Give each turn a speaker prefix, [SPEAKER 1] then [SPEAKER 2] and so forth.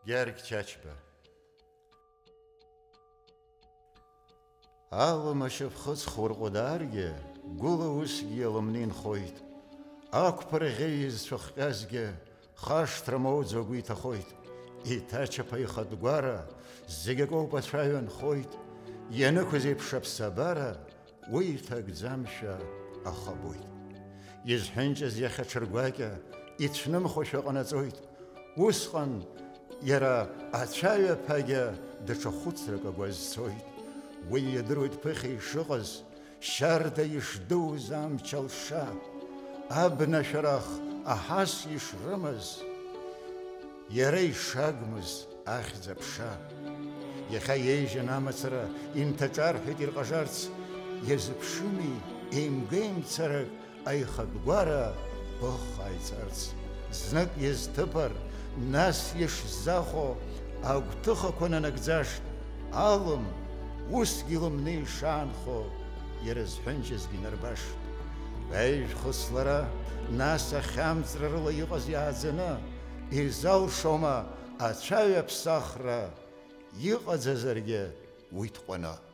[SPEAKER 1] Герг чачба. Алым ашып хыз хургударге, гула усги алымнин хойт. Акпар гейз шухказге, хаштрамоу зогуита хойт. И тача пайхадгвара, зигего пачайон хойт. Яныкузеп шапсабара, уитак замша ахабойт. Изхенчез яхачыргвака, итшным хошаганазойт. Усхан яра ачая пага дачахуцрага гвазсойт. ويدرود بخي شغز شرد يشدو زام چلشا ابن شرخ احاس يشرمز يري شاقمز اخذ بشا يخيج نامسرا انت جارح دير غجارت يزبشمي ام قيم تسرق اي خدوارا بخ اي تسرت زنك يزتبر ناس يشزاخو او تخو كنا نقزاش عالم وسقيلم نيشانخو يرز حنجز جنرباش بايش خسلرا ناسا خامزر رلا يغز يازنا إزال شوما أتشاوي بساخرا يغز زرگه ويتقونا